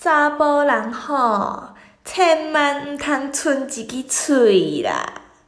查甫人吼，千万毋通剩一支喙啦。